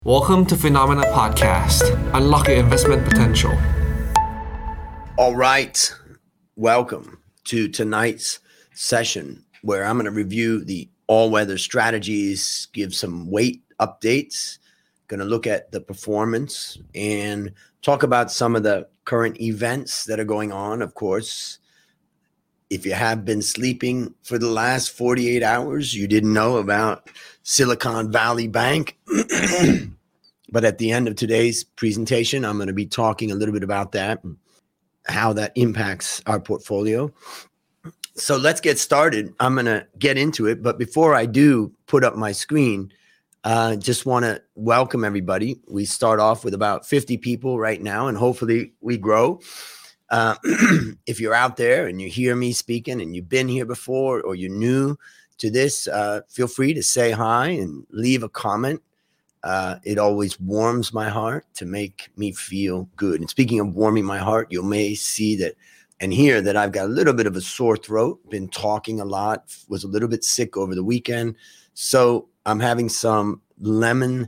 Welcome to Phenomena Podcast. Unlock your investment potential. All right. Welcome to tonight's session where I'm going to review the all-weather strategies, give some weight updates, going to look at the performance and talk about some of the current events that are going on. Of course, if you have been sleeping for the last 48 hours, you didn't know about Silicon Valley Bank. But at the end of today's presentation, I'm going to be talking a little bit about that and how that impacts our portfolio. So let's get started. I'm going to get into it. But before I do put up my screen, just want to welcome everybody. We start off with about 50 people right now, and hopefully we grow. If you're out there and you hear me speaking and you've been here before or you're new to this, feel free to say hi and leave a comment. It always warms my heart to make me feel good. And speaking of warming my heart, you may see that and hear that I've got a little bit of a sore throat, been talking a lot, was a little bit sick over the weekend. So I'm having some lemon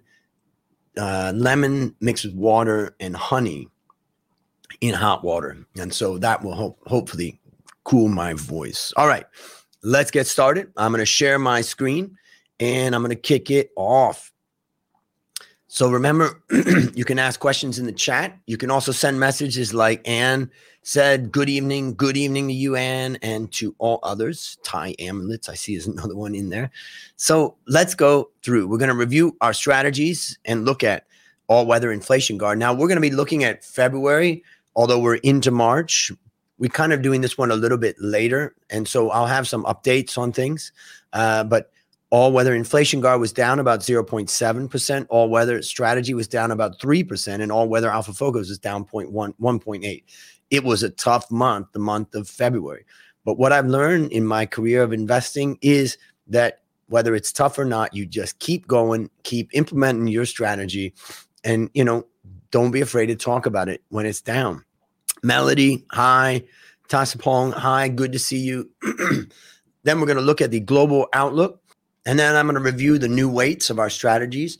mixed with water and honey in hot water. And so that will hopefully cool my voice. All right, let's get started. I'm going to share my screen and I'm going to kick it off. So remember, you can ask questions in the chat. You can also send messages like Ann said, good evening to you, Ann, and to all others. Ty Amulets, I see is another one in there. So let's go through. We're going to review our strategies and look at all-weather inflation guard. Now, we're going to be looking at February, although we're into March. We're kind of doing this one a little bit later, and so I'll have some updates on things, but all-weather inflation guard was down about 0.7%. All-weather strategy was down about 3%. And all-weather alpha focus was down 1.8. It was a tough month, the month of February. But what I've learned in my career of investing is that whether it's tough or not, you just keep going, keep implementing your strategy, and, don't be afraid to talk about it when it's down. Melody, hi. Tasapong, hi. Good to see you. Then we're going to look at the global outlook. And then I'm going to review the new weights of our strategies.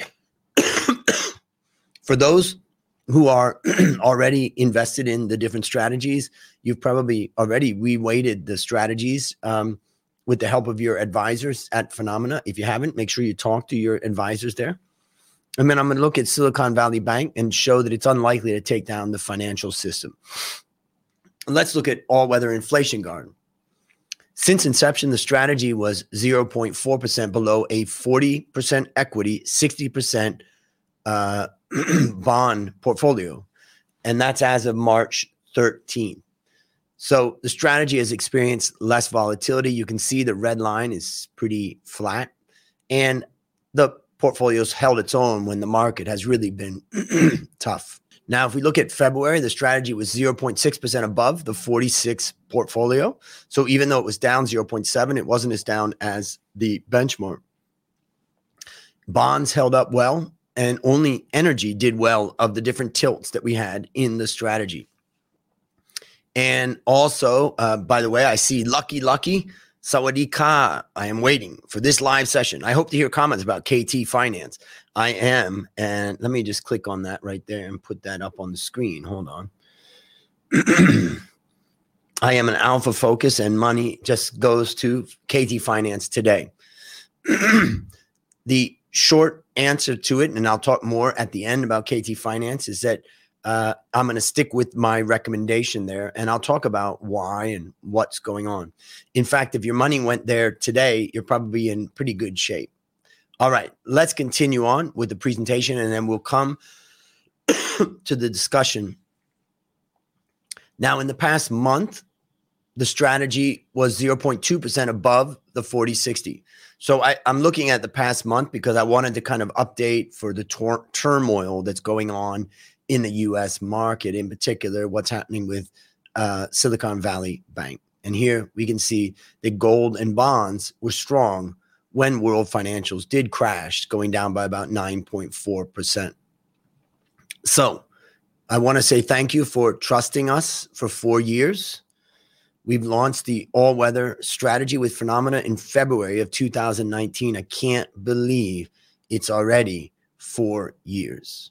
For those who are already invested in the different strategies, you've probably already reweighted the strategies with the help of your advisors at Phenomena. If you haven't, make sure you talk to your advisors there. And then I'm going to look at Silicon Valley Bank and show that it's unlikely to take down the financial system. Let's look at all-weather inflation guard. Since inception, the strategy was 0.4% below a 40% equity, 60% bond portfolio. And that's as of March 13th. So the strategy has experienced less volatility. You can see the red line is pretty flat. And the portfolio's held its own when the market has really been tough. Now, if we look at February, the strategy was 0.6% above the 46 portfolio. So even though it was down 0.7, it wasn't as down as the benchmark. Bonds held up well, and only energy did well of the different tilts that we had in the strategy. And also, by the way, I see Lucky, Sawadee Ka. I am waiting for this live session. I hope to hear comments about KT Finance. I am, and let me just click on that right there and put that up on the screen. Hold on. I am an alpha focus, and money just goes to KT Finance today. The short answer to it, and I'll talk more at the end about KT Finance, is that I'm going to stick with my recommendation there, and I'll talk about why and what's going on. In fact, if your money went there today, you're probably in pretty good shape. All right, let's continue on with the presentation, and then we'll come to the discussion. Now, in the past month, the strategy was 0.2% above the 40-60. So I'm looking at the past month because I wanted to kind of update for the turmoil that's going on in the U.S. market, in particular, what's happening with Silicon Valley Bank. And here we can see that gold and bonds were strong when world financials did crash, going down by about 9.4%. So I want to say thank you for trusting us for 4 years. We've launched the all-weather strategy with Phenomena in February of 2019. I can't believe it's already 4 years.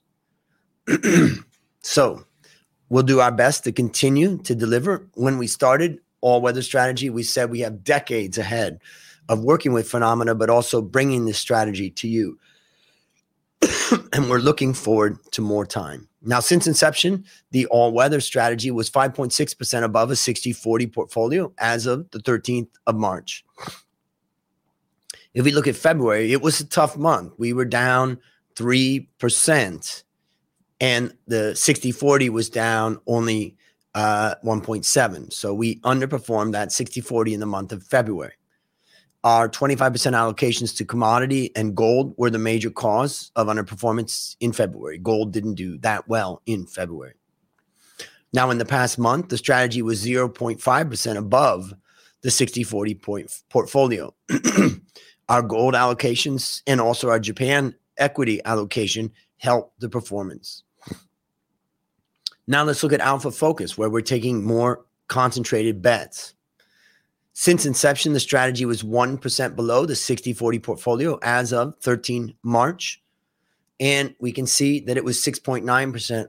So we'll do our best to continue to deliver. When we started All Weather Strategy, we said we have decades ahead of working with Phenomena, but also bringing this strategy to you. And we're looking forward to more time. Now, since inception, the All Weather Strategy was 5.6% above a 60-40 portfolio as of the 13th of March. If we look at February, it was a tough month. We were down 3%, and the 60-40 was down only 1.7. So we underperformed that 60-40 in the month of February. Our 25% allocations to commodity and gold were the major cause of underperformance in February. Gold didn't do that well in February. Now, in the past month, the strategy was 0.5% above the 60-40 portfolio. Our gold allocations and also our Japan equity allocation helped the performance. Now let's look at Alpha Focus, where we're taking more concentrated bets. Since inception, the strategy was 1% below the 60-40 portfolio as of 13 March. And we can see that it was 6.9%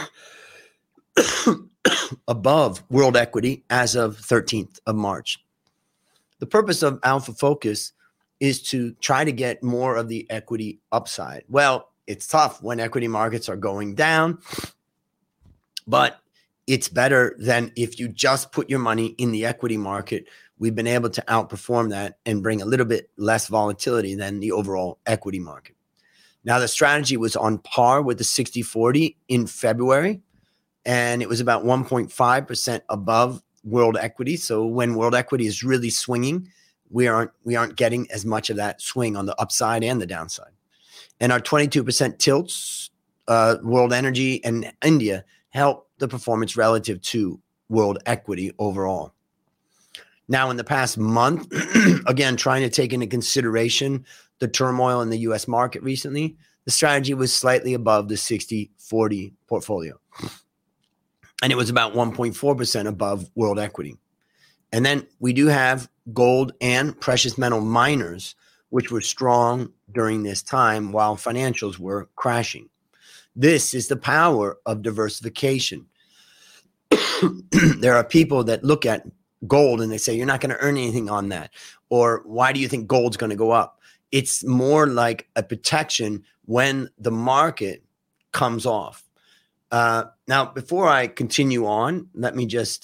above world equity as of 13th of March. The purpose of Alpha Focus is to try to get more of the equity upside. Well, it's tough when equity markets are going down, but it's better than if you just put your money in the equity market. We've been able to outperform that and bring a little bit less volatility than the overall equity market. Now, the strategy was on par with the 60-40 in February, and it was about 1.5% above world equity. So when world equity is really swinging, we aren't getting as much of that swing on the upside and the downside. And our 22% tilts, world energy and India, help the performance relative to world equity overall. Now, in the past month, again, trying to take into consideration the turmoil in the U.S. market recently, the strategy was slightly above the 60-40 portfolio. And it was about 1.4% above world equity. And then we do have gold and precious metal miners, which were strong during this time while financials were crashing. This is the power of diversification. There are people that look at gold and they say, you're not going to earn anything on that. Or why do you think gold's going to go up? It's more like a protection when the market comes off. Now, before I continue on, let me just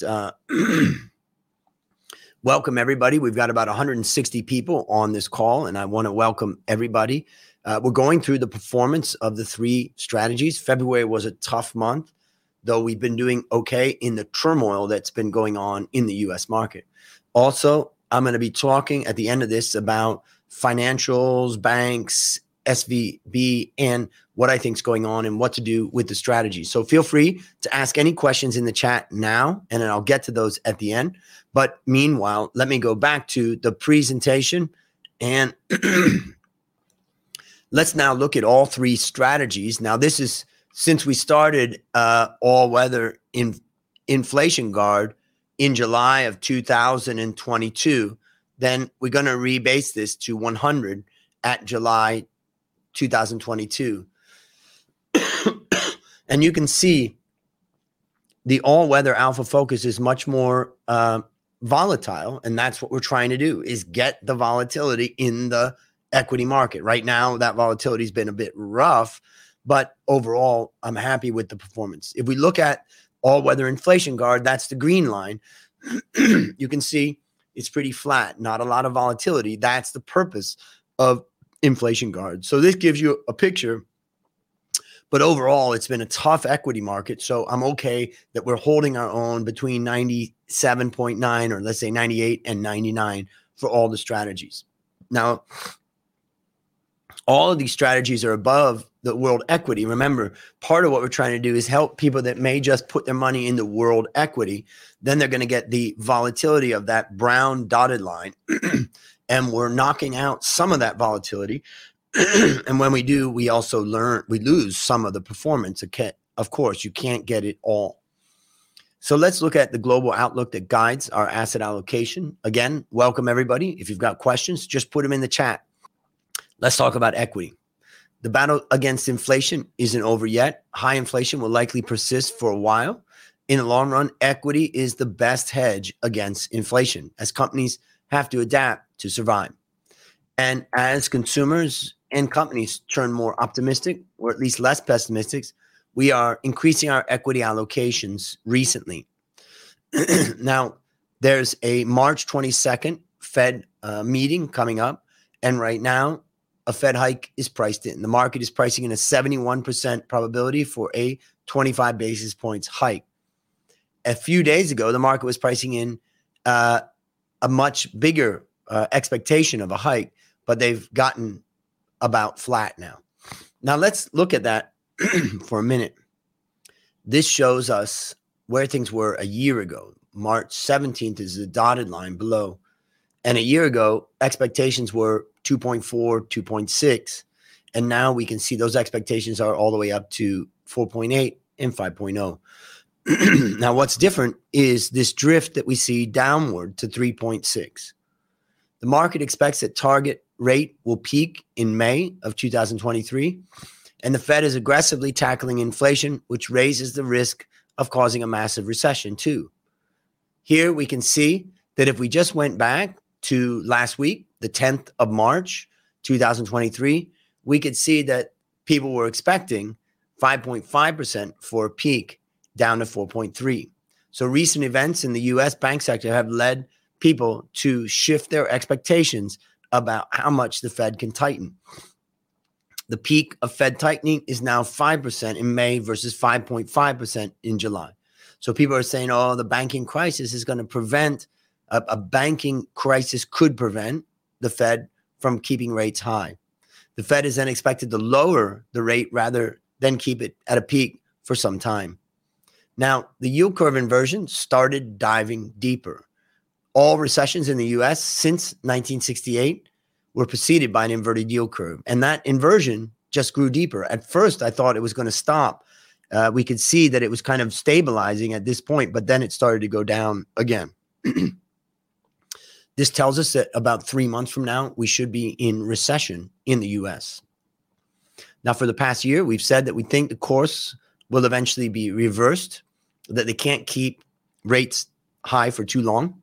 welcome everybody. We've got about 160 people on this call, and I want to welcome everybody. We're going through the performance of the 3 strategies. February was a tough month, though we've been doing okay in the turmoil that's been going on in the U.S. market. Also, I'm going to be talking at the end of this about financials, banks, SVB, and what I think is going on and what to do with the strategy. So feel free to ask any questions in the chat now, and then I'll get to those at the end. But meanwhile, let me go back to the presentation, and let's now look at all 3 strategies. Now, this is since we started All Weather Inflation Guard in July of 2022, then we're going to rebase this to 100 at July 2022. And you can see the All Weather Alpha Focus is much more volatile, and that's what we're trying to do, is get the volatility in the equity market. Right now, that volatility has been a bit rough, but overall, I'm happy with the performance. If we look at All Weather Inflation Guard, that's the green line. You can see it's pretty flat, not a lot of volatility. That's the purpose of Inflation Guard. So this gives you a picture, but overall, it's been a tough equity market. So I'm okay that we're holding our own between 97.9 or let's say 98 and 99 for all the strategies. Now, all of these strategies are above the world equity. Remember, part of what we're trying to do is help people that may just put their money in the world equity. Then they're going to get the volatility of that brown dotted line. And we're knocking out some of that volatility. And when we do, we also we lose some of the performance. Of course, you can't get it all. So let's look at the global outlook that guides our asset allocation. Again, welcome everybody. If you've got questions, just put them in the chat. Let's talk about equity. The battle against inflation isn't over yet. High inflation will likely persist for a while. In the long run, equity is the best hedge against inflation, as companies have to adapt to survive. And as consumers and companies turn more optimistic, or at least less pessimistic, we are increasing our equity allocations recently. Now, there's a March 22nd Fed meeting coming up. And right now, a Fed hike is priced in. The market is pricing in a 71% probability for a 25 basis points hike. A few days ago, the market was pricing in a much bigger expectation of a hike, but they've gotten about flat now. Now, let's look at that for a minute. This shows us where things were a year ago. March 17th is the dotted line below. And a year ago, expectations were 2.4, 2.6. And now we can see those expectations are all the way up to 4.8 and 5.0. Now, what's different is this drift that we see downward to 3.6. The market expects that target rate will peak in May of 2023. And the Fed is aggressively tackling inflation, which raises the risk of causing a massive recession too. Here we can see that if we just went back to last week, the 10th of March, 2023, we could see that people were expecting 5.5% for a peak down to 4.3. So recent events in the US bank sector have led people to shift their expectations about how much the Fed can tighten. The peak of Fed tightening is now 5% in May versus 5.5% in July. So people are saying, oh, the banking crisis is going to prevent, a banking crisis could prevent the Fed from keeping rates high. The Fed is then expected to lower the rate rather than keep it at a peak for some time. Now, the yield curve inversion started diving deeper. All recessions in the US since 1968 were preceded by an inverted yield curve. And that inversion just grew deeper. At first, I thought it was going to stop. We could see that it was kind of stabilizing at this point, but then it started to go down again. This tells us that about 3 months from now, we should be in recession in the US. Now, for the past year, we've said that we think the course will eventually be reversed, that they can't keep rates high for too long.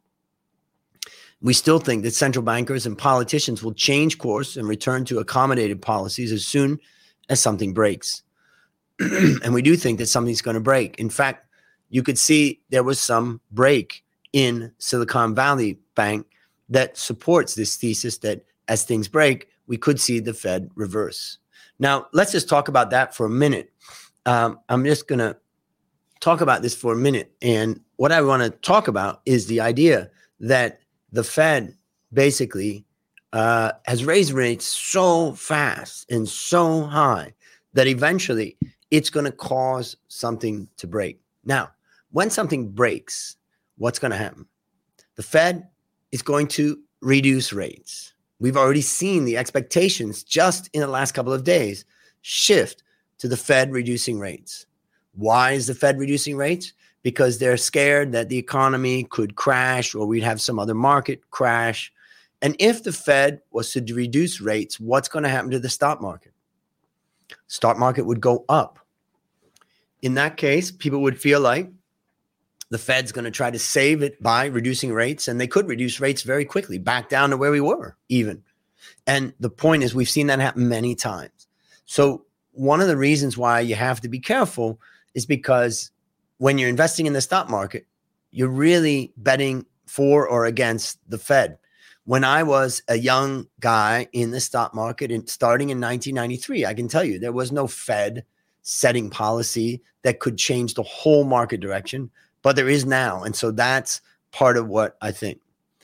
We still think that central bankers and politicians will change course and return to accommodative policies as soon as something breaks. And we do think that something's going to break. In fact, you could see there was some break in Silicon Valley Bank that supports this thesis that as things break, we could see the Fed reverse. Now, let's just talk about that for a minute. I'm just going to talk about this for a minute. And what I want to talk about is the idea that the Fed basically has raised rates so fast and so high that eventually it's going to cause something to break. Now, when something breaks, what's going to happen? The Fed is going to reduce rates. We've already seen the expectations just in the last couple of days shift to the Fed reducing rates. Why is the Fed reducing rates? Because they're scared that the economy could crash or we'd have some other market crash. And if the Fed was to reduce rates, what's going to happen to the stock market? Stock market would go up. In that case, people would feel like the Fed's going to try to save it by reducing rates, and they could reduce rates very quickly, back down to where we were even. And the point is, we've seen that happen many times. So one of the reasons why you have to be careful is because when you're investing in the stock market, you're really betting for or against the Fed. When I was a young guy in the stock market and starting in 1993, I can tell you there was no Fed setting policy that could change the whole market direction, but there is now. And so that's part of what I think.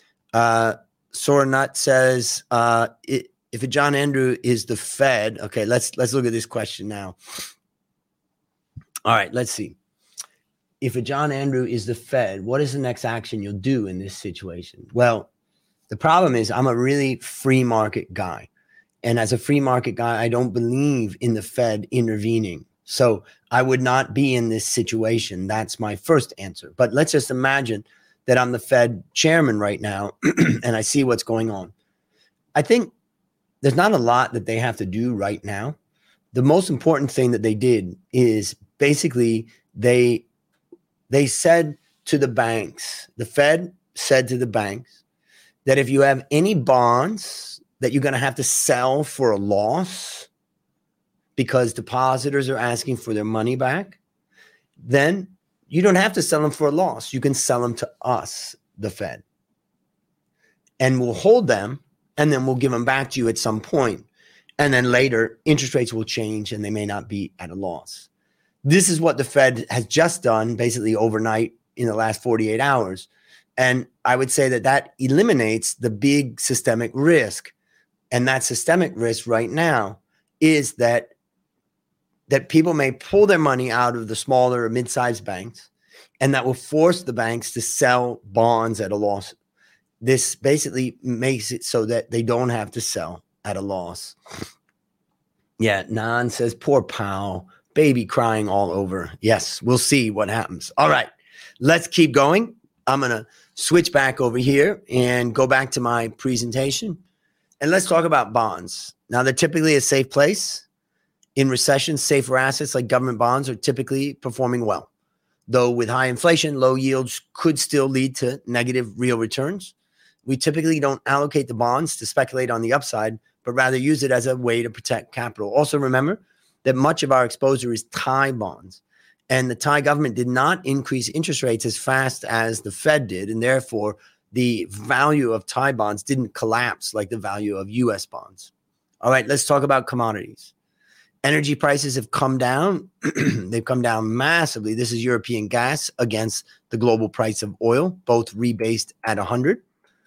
Sora Nut says, if a John Andrew is the Fed, okay, let's look at this question now. All right, let's see. If a John Andrew is the Fed, what is the next action you'll do in this situation? Well, the problem is I'm a really free market guy. And as a free market guy, I don't believe in the Fed intervening. So I would not be in this situation. That's my first answer. But let's just imagine that I'm the Fed chairman right now and I see what's going on. I think there's not a lot that they have to do right now. the most important thing that they did is basically they said to the banks, the Fed said to the banks, that if you have any bonds that you're going to have to sell for a loss because depositors are asking for their money back, then you don't have to sell them for a loss. You can sell them to us, the Fed, and we'll hold them, and then we'll give them back to you at some point. And then later, interest rates will change and they may not be at a loss. This is what the Fed has just done basically overnight in the last 48 hours. And I would say that that eliminates the big systemic risk. And that systemic risk right now is that people may pull their money out of the smaller or mid-sized banks, and that will force the banks to sell bonds at a loss. This basically makes it so that they don't have to sell at a loss. Yeah, Nan says, poor Powell, baby crying all over. Yes, we'll see what happens. All right, let's keep going. I'm going to switch back over here and go back to my presentation. And let's talk about bonds. Now, they're typically a safe place. In recessions, safer assets like government bonds are typically performing well. Though with high inflation, low yields could still lead to negative real returns. We typically don't allocate the bonds to speculate on the upside, but rather use it as a way to protect capital. Also remember that much of our exposure is Thai bonds, and the Thai government did not increase interest rates as fast as the Fed did, and therefore the value of Thai bonds didn't collapse like the value of US bonds. All right, let's talk about commodities. Energy prices have come down. They've come down massively. This is European gas against the global price of oil, both rebased at 100.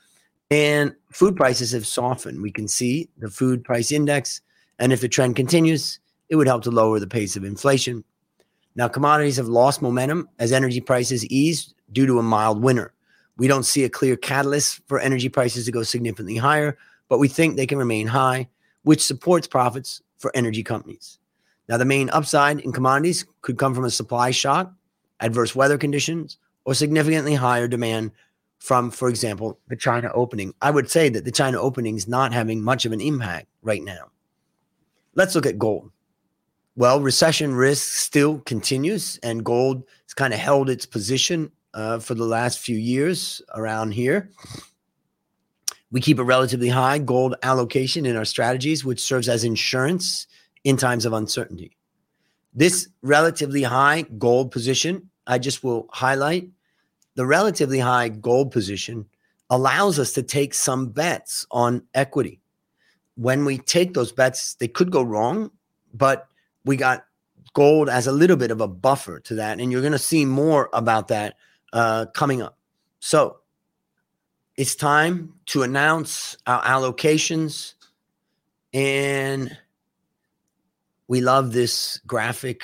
And food prices have softened. We can see the food price index. And if the trend continues, it would help to lower the pace of inflation. Now, commodities have lost momentum as energy prices eased due to a mild winter. We don't see a clear catalyst for energy prices to go significantly higher, but we think they can remain high, which supports profits for energy companies. Now, the main upside in commodities could come from a supply shock, adverse weather conditions, or significantly higher demand from, for example, the China opening. I would say that the China opening is not having much of an impact right now. Let's look at gold. Well, recession risk still continues, and gold has kind of held its position for the last few years around here. We keep a relatively high gold allocation in our strategies, which serves as insurance in times of uncertainty. This relatively high gold position, I just will highlight, the relatively high gold position allows us to take some bets on equity. When we take those bets, they could go wrong, but we got gold as a little bit of a buffer to that. And you're going to see more about that coming up. So it's time to announce our allocations. And we love this graphic.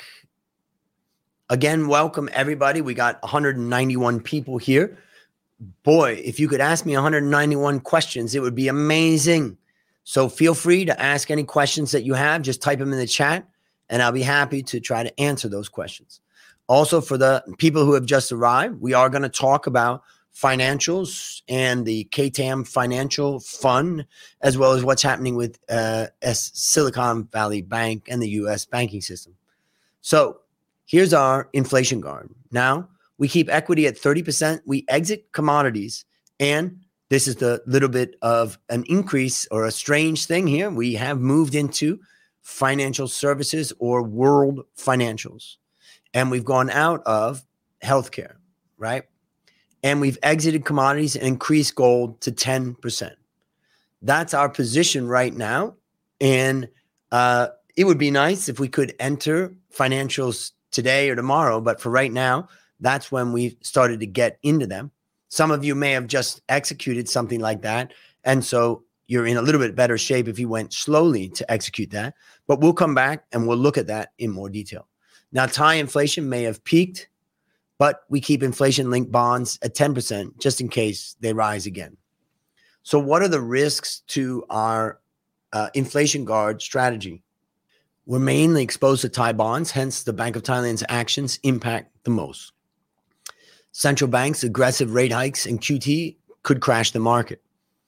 Again, welcome everybody. We got 191 people here. Boy, if you could ask me 191 questions, it would be amazing. So feel free to ask any questions that you have. Just type them in the chat, and I'll be happy to try to answer those questions. Also, for the people who have just arrived, we are going to talk about financials and the KTAM Financial Fund, as well as what's happening with Silicon Valley Bank and the U.S. banking system. So here's our inflation guard. Now, we keep equity at 30%. We exit commodities. And this is the little bit of an increase or a strange thing here. We have moved into financial services or world financials. And we've gone out of healthcare, right? And we've exited commodities and increased gold to 10%. That's our position right now. And it would be nice if we could enter financials today or tomorrow. But for right now, that's when we started to get into them. Some of you may have just executed something like that. And so you're in a little bit better shape if you went slowly to execute that. But we'll come back and we'll look at that in more detail. Now, Thai inflation may have peaked, but we keep inflation-linked bonds at 10% just in case they rise again. So what are the risks to our inflation guard strategy? We're mainly exposed to Thai bonds, hence the Bank of Thailand's actions impact the most. Central banks' aggressive rate hikes in QT could crash the market.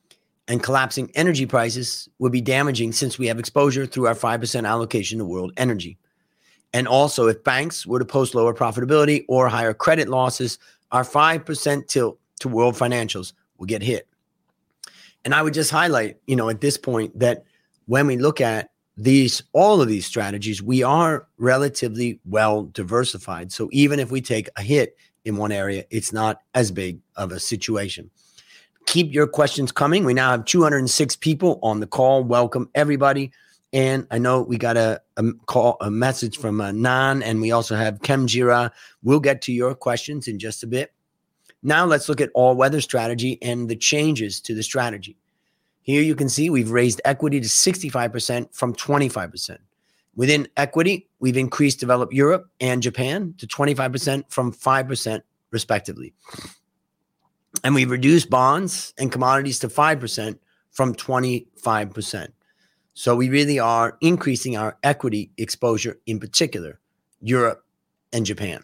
And collapsing energy prices would be damaging since we have exposure through our 5% allocation to world energy. And also, if banks were to post lower profitability or higher credit losses, our 5% tilt to world financials will get hit. And I would just highlight, at this point that when we look at all of these strategies, we are relatively well diversified. So even if we take a hit in one area, it's not as big of a situation. Keep your questions coming. We now have 206 people on the call. Welcome, everybody. And I know we got a message from Nan, and we also have Kemjira. We'll get to your questions in just a bit. Now let's look at all-weather strategy and the changes to the strategy. Here you can see we've raised equity to 65% from 25%. Within equity, we've increased developed Europe and Japan to 25% from 5% respectively. And we've reduced bonds and commodities to 5% from 25%. So we really are increasing our equity exposure, in particular, Europe and Japan.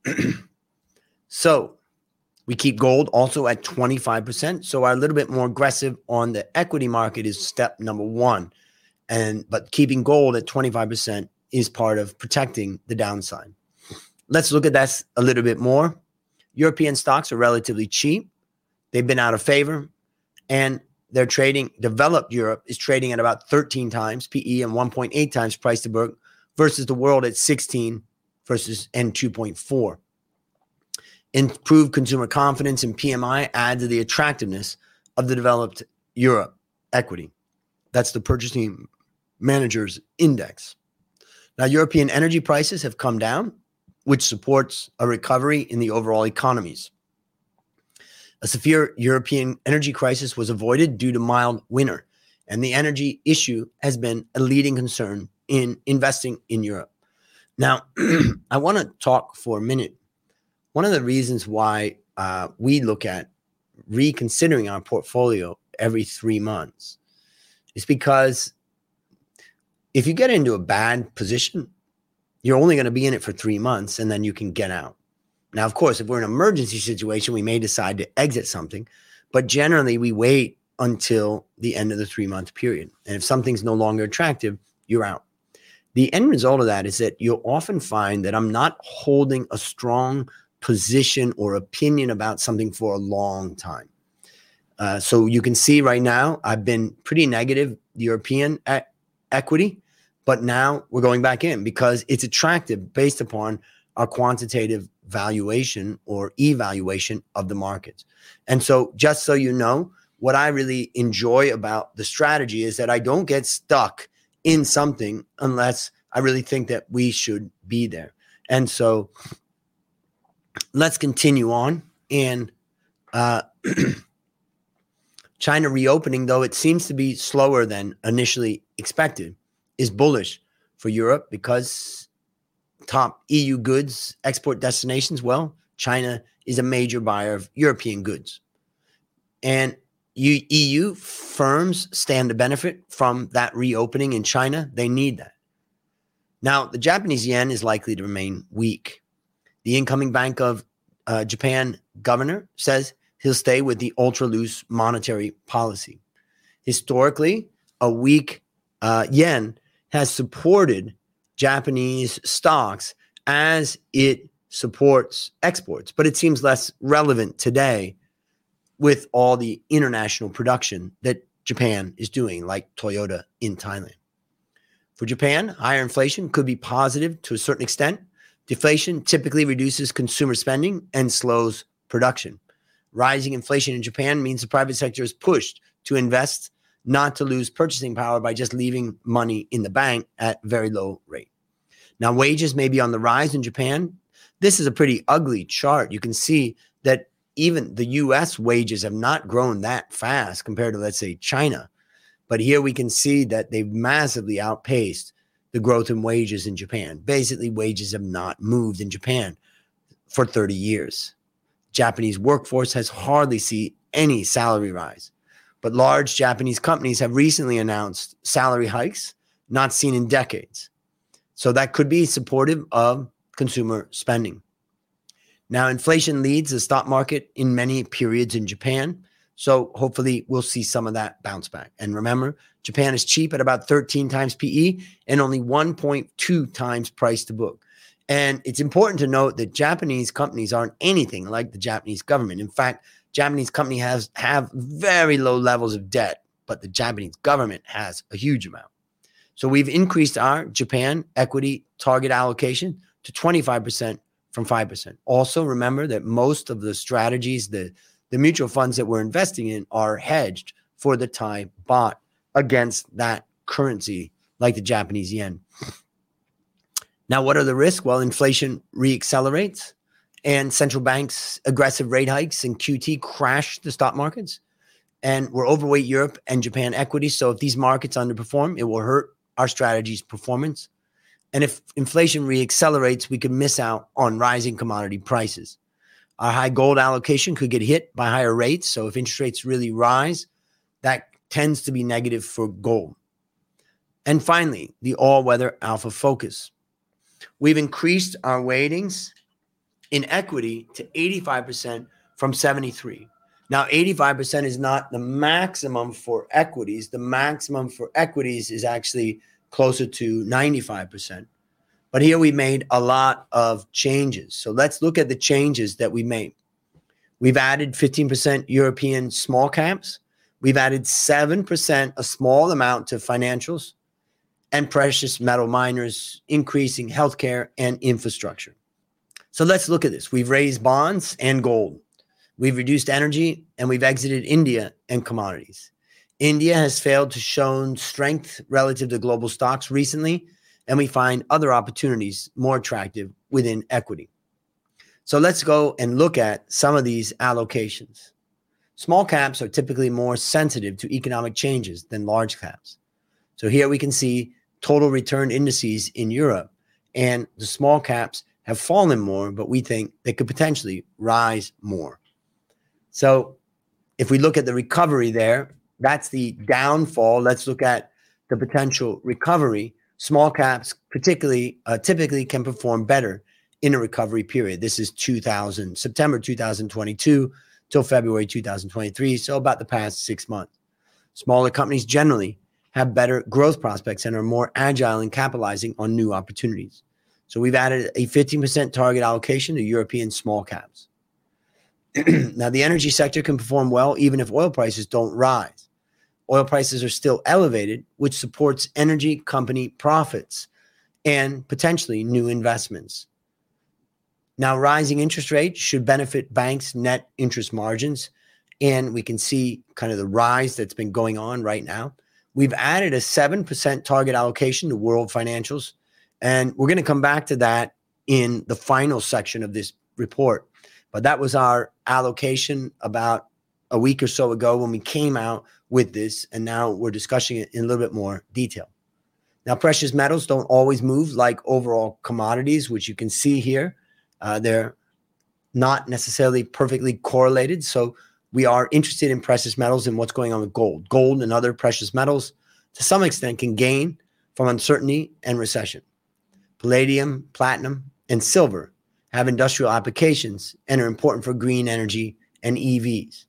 So we keep gold also at 25%. So our a little bit more aggressive on the equity market is step number one. But keeping gold at 25% is part of protecting the downside. Let's look at that a little bit more. European stocks are relatively cheap. They've been out of favor, and they're trading. Developed Europe is trading at about 13 times PE and 1.8 times price to book versus the world at 16 and 2.4. Improved consumer confidence and PMI add to the attractiveness of the developed Europe equity. That's the Purchasing Managers Index. Now, European energy prices have come down, which supports a recovery in the overall economies. A severe European energy crisis was avoided due to mild winter, and the energy issue has been a leading concern in investing in Europe. Now, I want to talk for a minute. One of the reasons why we look at reconsidering our portfolio every 3 months is because if you get into a bad position, you're only going to be in it for 3 months, and then you can get out. Now, of course, if we're in an emergency situation, we may decide to exit something, but generally we wait until the end of the 3-month period. And if something's no longer attractive, you're out. The end result of that is that you'll often find that I'm not holding a strong position or opinion about something for a long time. So you can see right now, I've been pretty negative European equity, but now we're going back in because it's attractive based upon our quantitative valuation or evaluation of the markets. And so just so you know, what I really enjoy about the strategy is that I don't get stuck in something unless I really think that we should be there. And so let's continue on. And China reopening, though it seems to be slower than initially expected, is bullish for Europe because top EU goods export destinations, well, China is a major buyer of European goods. And EU firms stand to benefit from that reopening in China. They need that. Now, the Japanese yen is likely to remain weak. The incoming Bank of Japan governor says he'll stay with the ultra-loose monetary policy. Historically, a weak yen has supported Japanese stocks as it supports exports, but it seems less relevant today with all the international production that Japan is doing, like Toyota in Thailand. For Japan, higher inflation could be positive to a certain extent. Deflation typically reduces consumer spending and slows production. Rising inflation in Japan means the private sector is pushed to invest, not to lose purchasing power by just leaving money in the bank at very low rate. Now, wages may be on the rise in Japan. This is a pretty ugly chart. You can see that even the U.S. wages have not grown that fast compared to, let's say, China. But here we can see that they've massively outpaced the growth in wages in Japan. Basically, wages have not moved in Japan for 30 years. Japanese workforce has hardly seen any salary rise. But large Japanese companies have recently announced salary hikes not seen in decades. So that could be supportive of consumer spending. Now, inflation leads the stock market in many periods in Japan. So hopefully we'll see some of that bounce back. And remember, Japan is cheap at about 13 times PE and only 1.2 times price to book. And it's important to note that Japanese companies aren't anything like the Japanese government. In fact, Japanese companies have very low levels of debt, but the Japanese government has a huge amount. So we've increased our Japan equity target allocation to 25% from 5%. Also, remember that most of the strategies, the mutual funds that we're investing in are hedged for the Thai baht against that currency, like the Japanese yen. Now, what are the risks? Well, inflation reaccelerates and central banks' aggressive rate hikes and QT crash the stock markets. And we're overweight Europe and Japan equities. So if these markets underperform, it will hurt our strategy's performance. And if inflation reaccelerates, we could miss out on rising commodity prices. Our high gold allocation could get hit by higher rates. So if interest rates really rise, that tends to be negative for gold. And finally, the all-weather alpha focus. We've increased our weightings in equity to 85% from 73%. Now, 85% is not the maximum for equities. The maximum for equities is actually closer to 95%. But here we made a lot of changes. So let's look at the changes that we made. We've added 15% European small caps. We've added 7%, a small amount, to financials and precious metal miners, increasing healthcare and infrastructure. So let's look at this. We've raised bonds and gold. We've reduced energy, and we've exited India and commodities. India has failed to show strength relative to global stocks recently, and we find other opportunities more attractive within equity. So let's go and look at some of these allocations. Small caps are typically more sensitive to economic changes than large caps. So here we can see total return indices in Europe, and the small caps have fallen more, but we think they could potentially rise more. So if we look at the recovery there, that's the downfall. Let's look at the potential recovery. Small caps typically can perform better in a recovery period. This is September 2022 till February 2023, so about the past 6 months. Smaller companies generally have better growth prospects and are more agile in capitalizing on new opportunities. So we've added a 15% target allocation to European small caps. Now, the energy sector can perform well even if oil prices don't rise. Oil prices are still elevated, which supports energy company profits and potentially new investments. Now, rising interest rates should benefit banks' net interest margins, and we can see kind of the rise that's been going on right now. We've added a 7% target allocation to world financials, and we're going to come back to that in the final section of this report. But that was our allocation about a week or so ago when we came out with this, and now we're discussing it in a little bit more detail. Now, precious metals don't always move like overall commodities, which you can see here. They're not necessarily perfectly correlated. So we are interested in precious metals and what's going on with gold. Gold and other precious metals, to some extent, can gain from uncertainty and recession. Palladium, platinum, and silver have industrial applications and are important for green energy and EVs.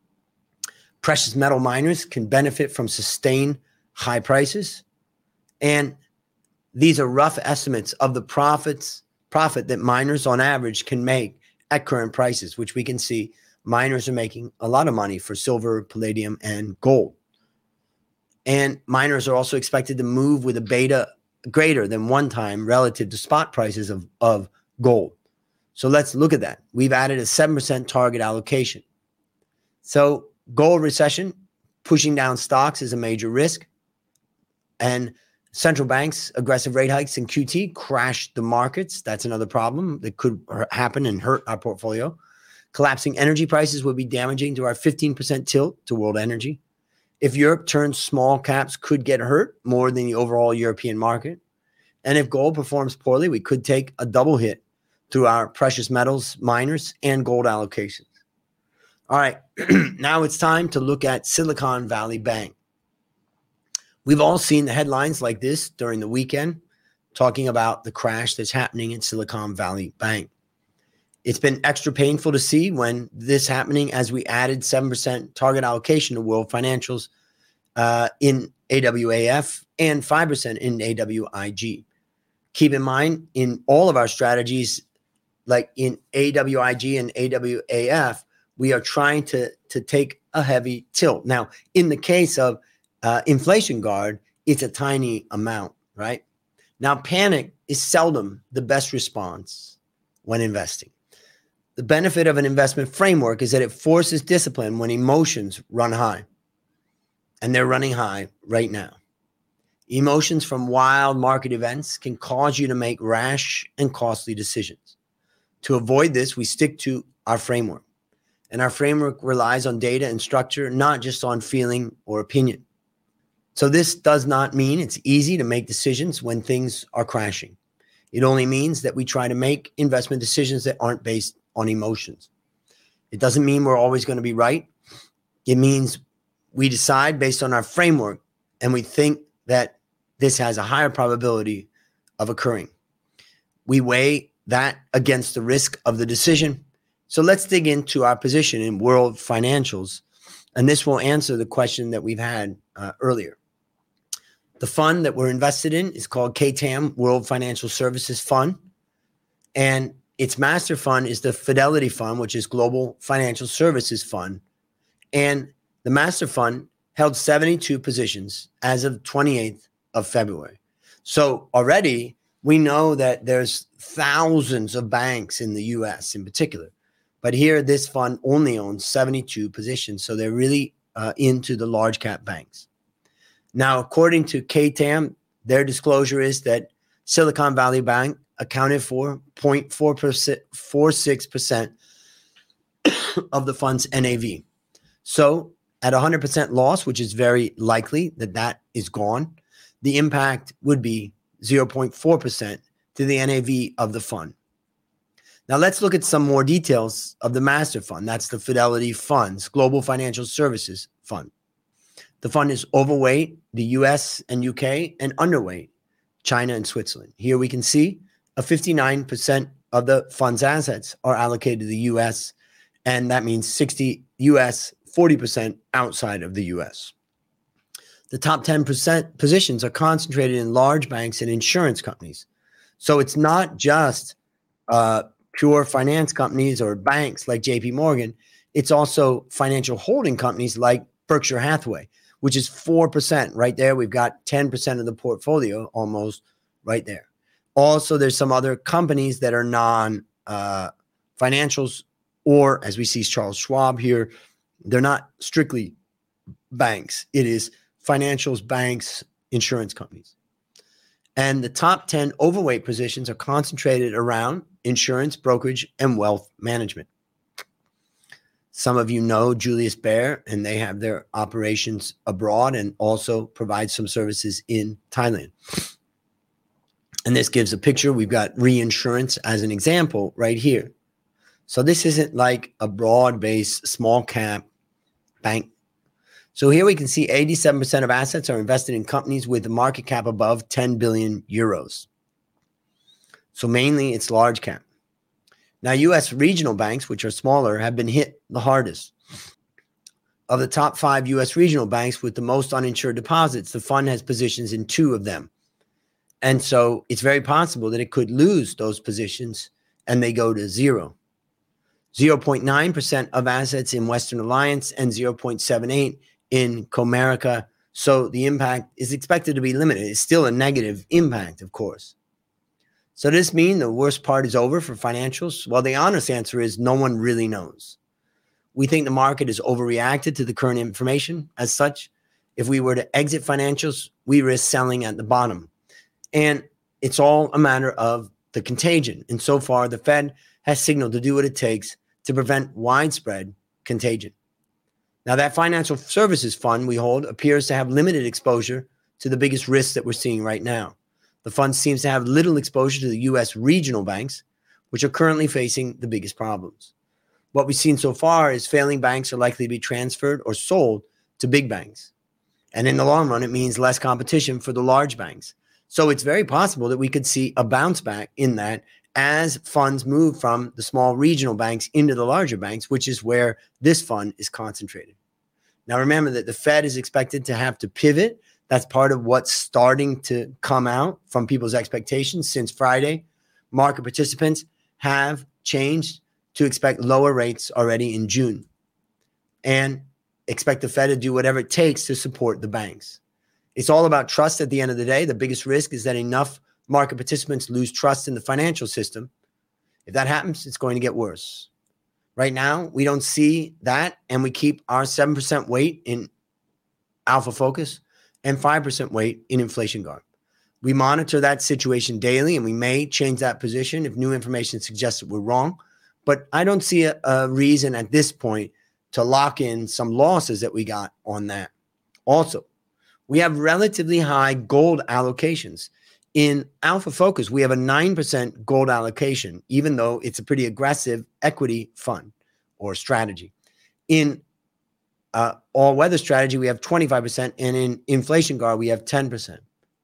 Precious metal miners can benefit from sustained high prices. And these are rough estimates of the profit that miners on average can make at current prices, which we can see miners are making a lot of money for silver, palladium, and gold. And miners are also expected to move with a beta greater than 1 time relative to spot prices of gold. So let's look at that. We've added a 7% target allocation. So gold recession pushing down stocks is a major risk. And central banks' aggressive rate hikes and QT crashed the markets. That's another problem that could happen and hurt our portfolio. Collapsing energy prices would be damaging to our 15% tilt to world energy. If Europe turns small caps, could get hurt more than the overall European market. And if gold performs poorly, we could take a double hit through our precious metals, miners, and gold allocations. All right, now it's time to look at Silicon Valley Bank. We've all seen the headlines like this during the weekend, talking about the crash that's happening in Silicon Valley Bank. It's been extra painful to see when this happening as we added 7% target allocation to World Financials in AWAF and 5% in AWIG. Keep in mind, in all of our strategies, like in AWIG and AWAF, we are trying to take a heavy tilt. Now, in the case of Inflation Guard, it's a tiny amount, right? Now, panic is seldom the best response when investing. The benefit of an investment framework is that it forces discipline when emotions run high. And they're running high right now. Emotions from wild market events can cause you to make rash and costly decisions. To avoid this, we stick to our framework. And our framework relies on data and structure, not just on feeling or opinion. So this does not mean it's easy to make decisions when things are crashing. It only means that we try to make investment decisions that aren't based on emotions. It doesn't mean we're always going to be right. It means we decide based on our framework, and we think that this has a higher probability of occurring. We weigh that against the risk of the decision. So let's dig into our position in World Financials, and this will answer the question that we've had earlier. The fund that we're invested in is called KTAM World Financial Services Fund, and its master fund is the Fidelity Fund, which is Global Financial Services Fund, and the master fund held 72 positions as of 28th of February. So already we know that there's thousands of banks in the US in particular, but here this fund only owns 72 positions. So they're really into the large cap banks. Now, according to KTAM, their disclosure is that Silicon Valley Bank accounted for 0.46% of the fund's NAV. So at 100% loss, which is very likely that is gone, the impact would be 0.4% to the NAV of the fund. Now let's look at some more details of the master fund. That's the Fidelity Funds, Global Financial Services Fund. The fund is overweight the US and UK and underweight China and Switzerland. Here we can see a 59% of the fund's assets are allocated to the US, and that means 60 US, 40% outside of the US. The top 10% positions are concentrated in large banks and insurance companies. So it's not just pure finance companies or banks like JP Morgan. It's also financial holding companies like Berkshire Hathaway, which is 4% right there. We've got 10% of the portfolio almost right there. Also, there's some other companies that are non-financials, or as we see Charles Schwab here, they're not strictly banks. It is financials, banks, insurance companies. And the top 10 overweight positions are concentrated around insurance, brokerage, and wealth management. Some of you know Julius Baer, and they have their operations abroad and also provide some services in Thailand. And this gives a picture. We've got reinsurance as an example right here. So this isn't like a broad-based small cap bank. So here we can see 87% of assets are invested in companies with a market cap above 10 billion euros. So mainly it's large cap. Now, U.S. regional banks, which are smaller, have been hit the hardest. Of the top 5 U.S. regional banks with the most uninsured deposits, the fund has positions in 2 of them. And so it's very possible that it could lose those positions and they go to zero. 0.9% of assets in Western Alliance and 0.78% in Comerica. So the impact is expected to be limited. It's still a negative impact, of course. So does this mean the worst part is over for financials? Well, the honest answer is no one really knows. We think the market has overreacted to the current information. As such, if we were to exit financials, we risk selling at the bottom. And it's all a matter of the contagion. And so far, the Fed has signaled to do what it takes to prevent widespread contagion. Now, that financial services fund we hold appears to have limited exposure to the biggest risks that we're seeing right now. The fund seems to have little exposure to the U.S. regional banks, which are currently facing the biggest problems. What we've seen so far is failing banks are likely to be transferred or sold to big banks. And in the long run, it means less competition for the large banks. So it's very possible that we could see a bounce back in that as funds move from the small regional banks into the larger banks, which is where this fund is concentrated. Now, remember that the Fed is expected to have to pivot. That's part of what's starting to come out from people's expectations since Friday. Market participants have changed to expect lower rates already in June and expect the Fed to do whatever it takes to support the banks. It's all about trust at the end of the day. The biggest risk is that enough market participants lose trust in the financial system. If that happens, it's going to get worse. Right now, we don't see that, and we keep our 7% weight in Alpha Focus and 5% weight in Inflation Guard. We monitor that situation daily, and we may change that position if new information suggests that we're wrong. But I don't see a reason at this point to lock in some losses that we got on that. Also, we have relatively high gold allocations. In Alpha Focus, we have a 9% gold allocation, even though it's a pretty aggressive equity fund or strategy. In all-weather strategy, we have 25%, and in Inflation Guard, we have 10%.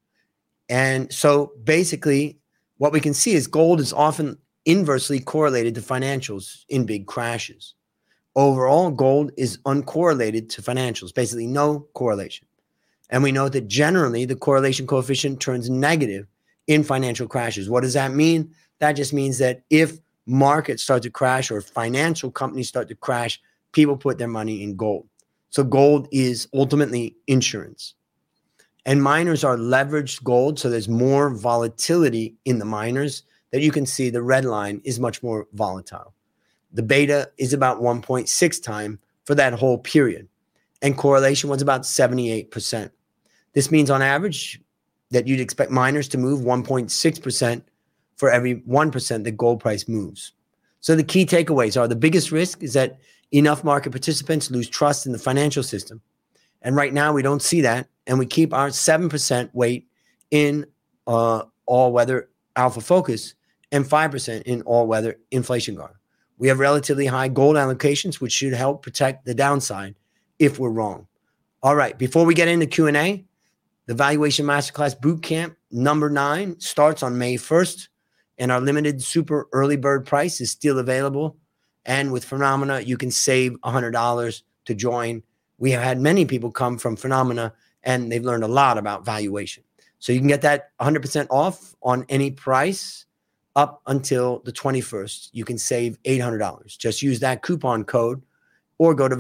And so basically, what we can see is gold is often inversely correlated to financials in big crashes. Overall, gold is uncorrelated to financials, basically no correlation. And we know that generally the correlation coefficient turns negative in financial crashes. What does that mean? That just means that if markets start to crash or financial companies start to crash, people put their money in gold. So gold is ultimately insurance. And miners are leveraged gold, so there's more volatility in the miners that you can see. The red line is much more volatile. The beta is about 1.6 times for that whole period. And correlation was about 78%. This means on average that you'd expect miners to move 1.6% for every 1% that gold price moves. So the key takeaways are the biggest risk is that enough market participants lose trust in the financial system. And right now we don't see that. And we keep our 7% weight in all-weather Alpha Focus and 5% in all-weather Inflation Guard. We have relatively high gold allocations, which should help protect the downside if we're wrong. All right, before we get into Q&A, the Valuation Masterclass Bootcamp number 9 starts on May 1st, and our limited super early bird price is still available. And with Phenomena, you can save $100 to join. We have had many people come from Phenomena, and they've learned a lot about valuation. So you can get that 100% off on any price up until the 21st. You can save $800. Just use that coupon code or go to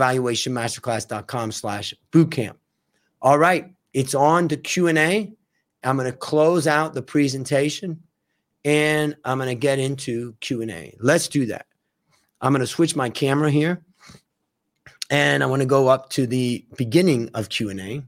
valuationmasterclass.com/bootcamp. All right, it's on to Q&A. I'm going to close out the presentation, and I'm going to get into Q&A. Let's do that. I'm going to switch my camera here, and I want to go up to the beginning of Q&A.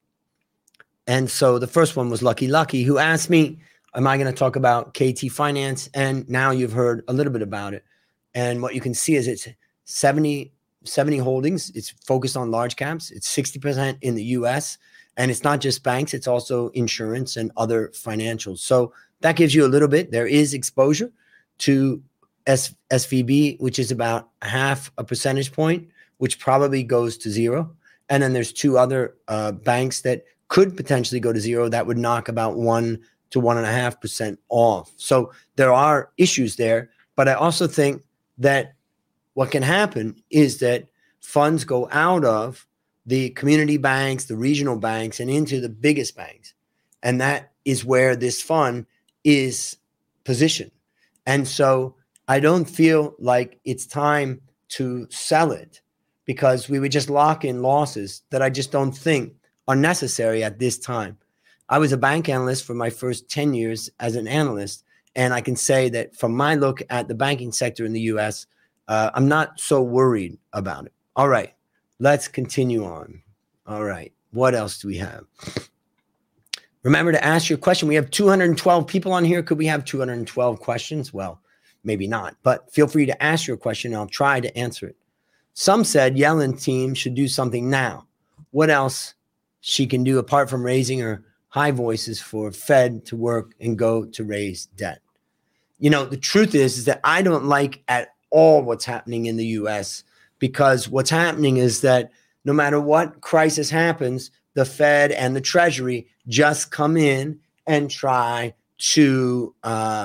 And so the first one was Lucky, who asked me, am I going to talk about KT Finance? And now you've heard a little bit about it. And what you can see is it's 70 holdings. It's focused on large caps. It's 60% in the US. And it's not just banks. It's also insurance and other financials. So that gives you a little bit. There is exposure to SVB, which is about half a percentage point, which probably goes to zero. And then there's two other banks that could potentially go to zero. That would knock about 1 to 1.5% off. So there are issues there. But I also think that what can happen is that funds go out of the community banks, the regional banks, and into the biggest banks. And that is where this fund is positioned. And so I don't feel like it's time to sell it because we would just lock in losses that I just don't think are necessary at this time. I was a bank analyst for my first 10 years as an analyst. And I can say that from my look at the banking sector in the US, I'm not so worried about it. All right, let's continue on. All right, what else do we have? Remember to ask your question. We have 212 people on here. Could we have 212 questions? Well, maybe not, but feel free to ask your question. And I'll try to answer it. Some said Yellen team should do something now. What else she can do apart from raising her high voices for Fed to work and go to raise debt? You know, the truth is that I don't like at all what's happening in the US, because what's happening is that no matter what crisis happens, the Fed and the Treasury just come in and try to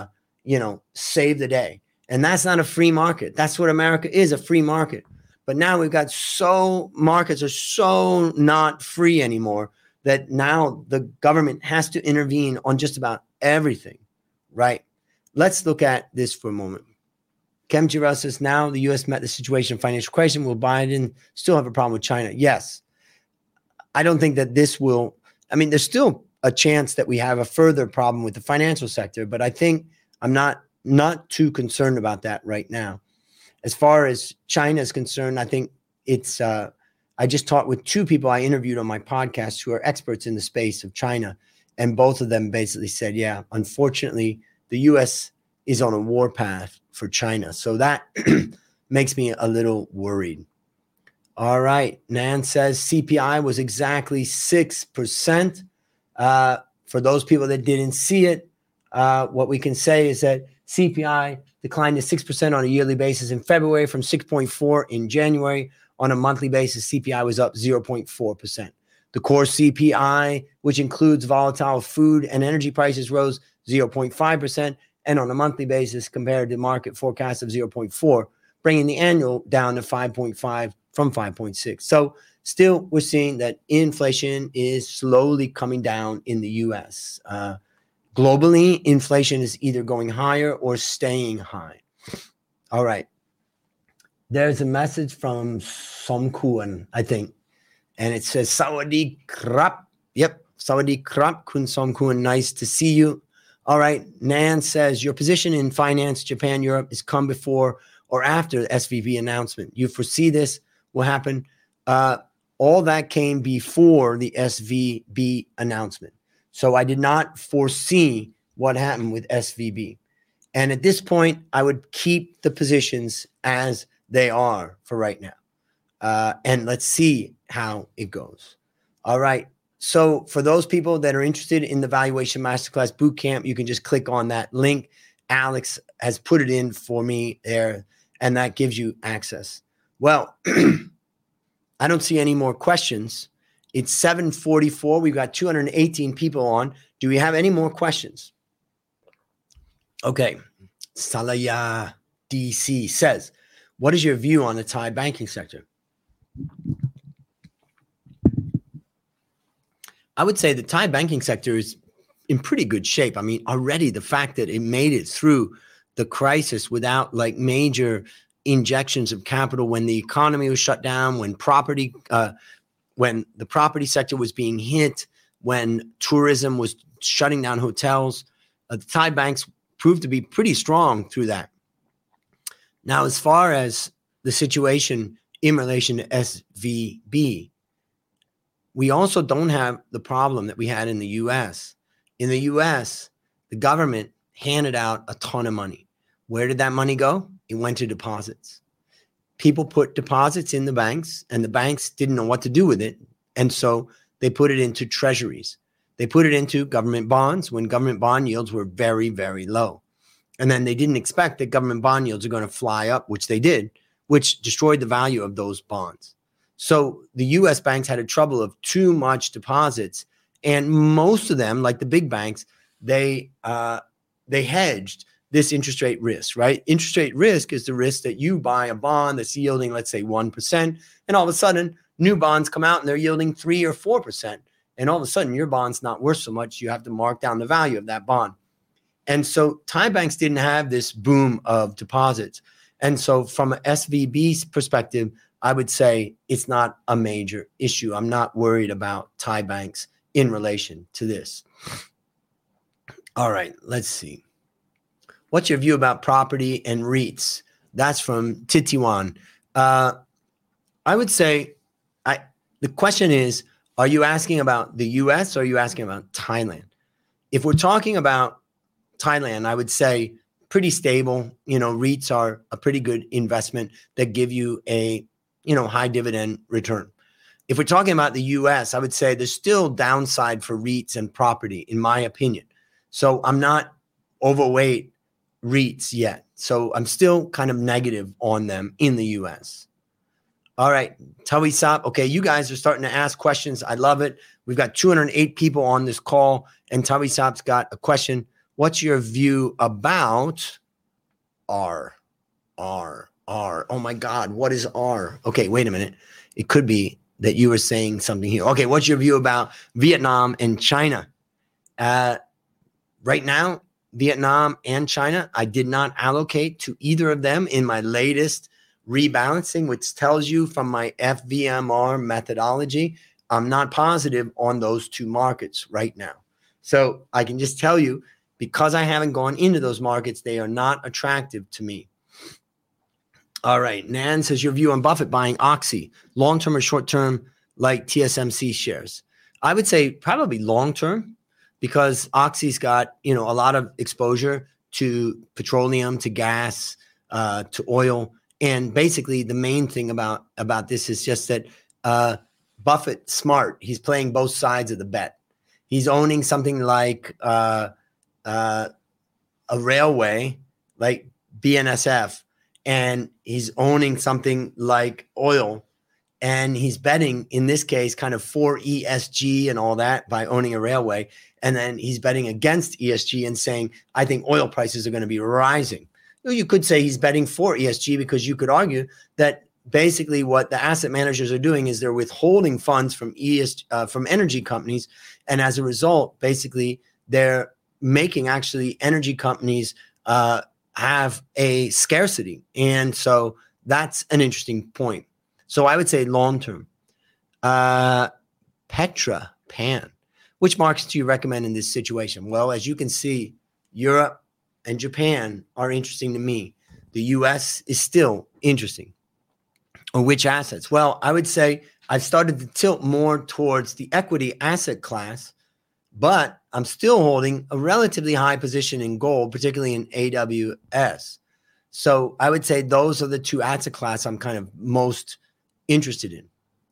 save the day. And that's not a free market. That's what America is, a free market. But now we've got markets are so not free anymore that now the government has to intervene on just about everything, right? Let's look at this for a moment. Kem Jirel says, now the U.S. met the situation of financial crisis. Will Biden still have a problem with China? Yes. I don't think that this will, there's still a chance that we have a further problem with the financial sector, but I think I'm not too concerned about that right now. As far as China is concerned, I think it's, I just talked with two people I interviewed on my podcast who are experts in the space of China. And both of them basically said, yeah, unfortunately, the U.S. is on a war path for China. So that makes me a little worried. All right. Nan says CPI was exactly 6%. For those people that didn't see it, what we can say is that CPI declined to 6% on a yearly basis in February from 6.4% in January. On a monthly basis, CPI was up 0.4%. The core CPI, which includes volatile food and energy prices, rose 0.5%. And on a monthly basis, compared to market forecast of 0.4%, bringing the annual down to 5.5% from 5.6%. So still, we're seeing that inflation is slowly coming down in the U.S. Globally, inflation is either going higher or staying high. All right. There's a message from Som Kuan, I think, and it says, Sawadee krap. Yep, Sawadee krap, Kun Som Kuan, nice to see you. All right, Nan says, your position in finance, Japan, Europe, is come before or after the SVB announcement. You foresee this will happen? All that came before the SVB announcement. So I did not foresee what happened with SVB. And at this point, I would keep the positions as they are for right now. And let's see how it goes. All right. So for those people that are interested in the Valuation Masterclass Bootcamp, you can just click on that link. Alex has put it in for me there, and that gives you access. Well, I don't see any more questions. It's 7:44. We've got 218 people on. Do we have any more questions? Okay. Salaya DC says, what is your view on the Thai banking sector? I would say the Thai banking sector is in pretty good shape. Already the fact that it made it through the crisis without major injections of capital when the economy was shut down, when the property sector was being hit, when tourism was shutting down hotels, the Thai banks proved to be pretty strong through that. Now, as far as the situation in relation to SVB, we also don't have the problem that we had in the U.S. In the U.S., the government handed out a ton of money. Where did that money go? It went to deposits. People put deposits in the banks, and the banks didn't know what to do with it. And so they put it into treasuries. They put it into government bonds when government bond yields were very, very low. And then they didn't expect that government bond yields are going to fly up, which they did, which destroyed the value of those bonds. So the U.S. banks had a trouble of too much deposits. And most of them, like the big banks, they hedged this interest rate risk, right? Interest rate risk is the risk that you buy a bond that's yielding, let's say, 1%. And all of a sudden, new bonds come out and they're yielding 3 or 4%. And all of a sudden, your bond's not worth so much. You have to mark down the value of that bond. And so Thai banks didn't have this boom of deposits. And so from an SVB's perspective, I would say it's not a major issue. I'm not worried about Thai banks in relation to this. All right, let's see. What's your view about property and REITs? That's from Titiwan. I would say the question is, are you asking about the U.S. or are you asking about Thailand? If we're talking about Thailand, I would say pretty stable. REITs are a pretty good investment that give you a high dividend return. If we're talking about the U.S., I would say there's still downside for REITs and property, in my opinion. So I'm not overweight REITs yet. So I'm still kind of negative on them in the U.S. All right, Tawi Sap. Okay, you guys are starting to ask questions. I love it. We've got 208 people on this call, and Tawi Sap's got a question. What's your view about R? Oh my God, what is R? Okay, wait a minute. It could be that you were saying something here. Okay, what's your view about Vietnam and China? Right now, Vietnam and China, I did not allocate to either of them in my latest rebalancing, which tells you from my FVMR methodology, I'm not positive on those two markets right now. So I can just tell you, because I haven't gone into those markets, they are not attractive to me. All right. Nan says, your view on Buffett buying Oxy, long-term or short-term, like TSMC shares? I would say probably long-term, because Oxy's got, a lot of exposure to petroleum, to gas, to oil. And basically the main thing about this is just that Buffett's smart. He's playing both sides of the bet. He's owning something like a railway, like BNSF, and he's owning something like oil. And he's betting, in this case, kind of for ESG and all that by owning a railway. And then he's betting against ESG and saying, I think oil prices are going to be rising. You could say he's betting for ESG, because you could argue that basically what the asset managers are doing is they're withholding funds from from energy companies. And as a result, basically, they're making actually energy companies have a scarcity. And so that's an interesting point. So I would say long-term. Petra Pan, which markets do you recommend in this situation? Well, as you can see, Europe and Japan are interesting to me. The US is still interesting. Or which assets? Well, I would say I've started to tilt more towards the equity asset class, but I'm still holding a relatively high position in gold, particularly in AWS. So I would say those are the two asset class I'm kind of most interested in.